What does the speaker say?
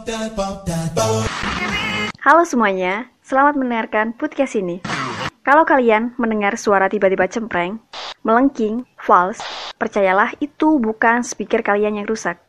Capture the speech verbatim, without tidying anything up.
Halo semuanya, selamat mendengarkan podcast ini. Kalau kalian mendengar suara tiba-tiba cempreng, melengking, fals, percayalah itu bukan speaker kalian yang rusak.